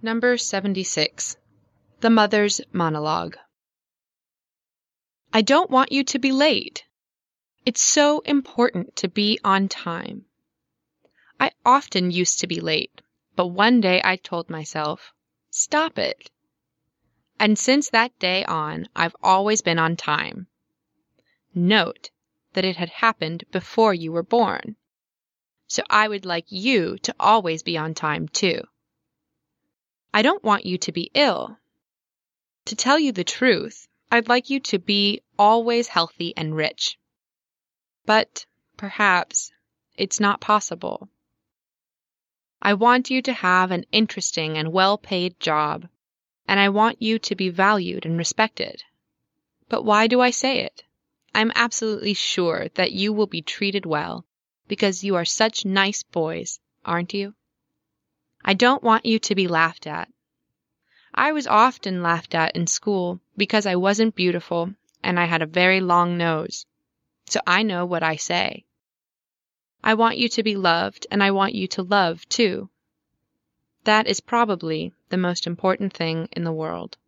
Number 76. The Mother's Monologue. I don't want you to be late. It's so important to be on time. I often used to be late, but one day I told myself, stop it. And since that day on, I've always been on time. Note that it had happened before you were born. So I would like you to always be on time too. I don't want you to be ill. To tell you the truth, I'd like you to be always healthy and rich. But perhaps it's not possible. I want you to have an interesting and well-paid job, and I want you to be valued and respected. But why do I say it? I'm absolutely sure that you will be treated well, because you are such nice boys, aren't you? I don't want you to be laughed at. I was often laughed at in school because I wasn't beautiful and I had a very long nose. So I know what I say. I want you to be loved, and I want you to love too. That is probably the most important thing in the world.